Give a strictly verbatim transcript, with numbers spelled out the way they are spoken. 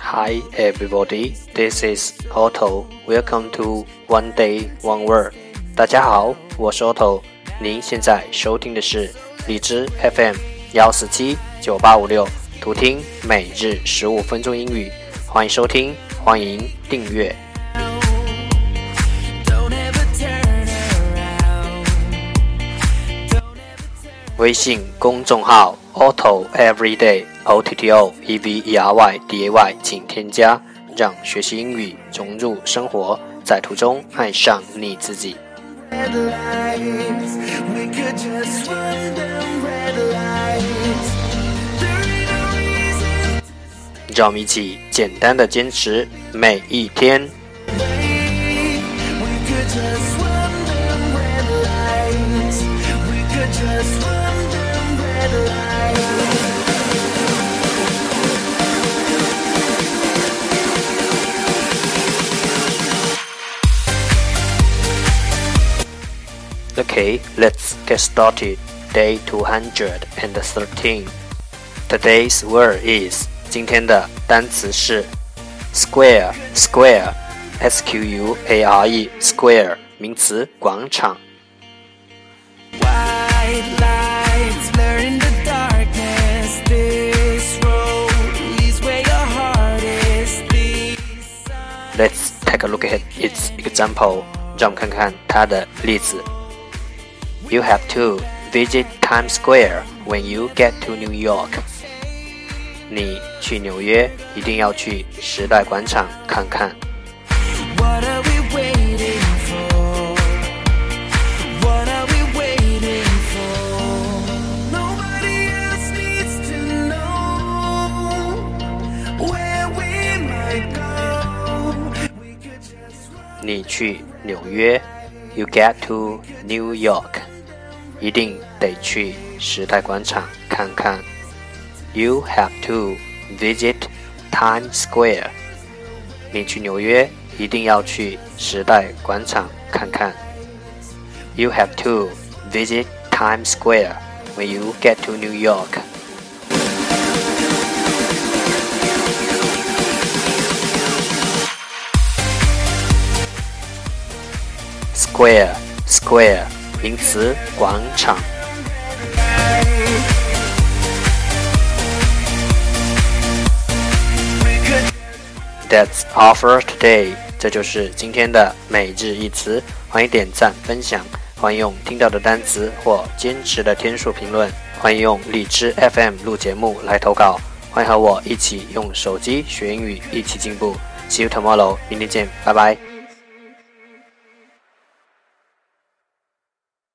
Hi everybody, this is Otto. Welcome to One Day One Word. 大家好，我是 Otto。您现在收听的是荔枝 F M 一四七九八五六，图听每日十五分钟英语。欢迎收听，欢迎订阅。微信公众号 Otto Everyday O T T O E V E R Y D A Y 请添加，让学习英语融入生活，在途中爱上你自己。让我们一起简单的坚持每一天。Okay, let's get started. Day two hundred thirteen. Today's word is 今天的单词是 square, square, S Q U A R E, square, 名词广场。Let's take a look at its example. 让我们看看它的例子。You have to visit Times Square when you get to New York. 你去纽约一定要去时代广场看看。What are we waiting for? What are we waiting for? Nobody else needs to know where we might go. We could just run. 你去纽约 You get to New York. 一定得去时代广场看看。You have to visit Times Square. 你去纽约一定要去时代广场看看。You have to visit Times Square when you get to New York. Square, square, 名词广场。That's all for today. 这就是今天的每日一词。欢迎点赞分享，欢迎用听到的单词或坚持的天数评论，欢迎用荔枝 F M 录节目来投稿，欢迎和我一起用手机学英语，一起进步。See you tomorrow. 明天见，拜拜。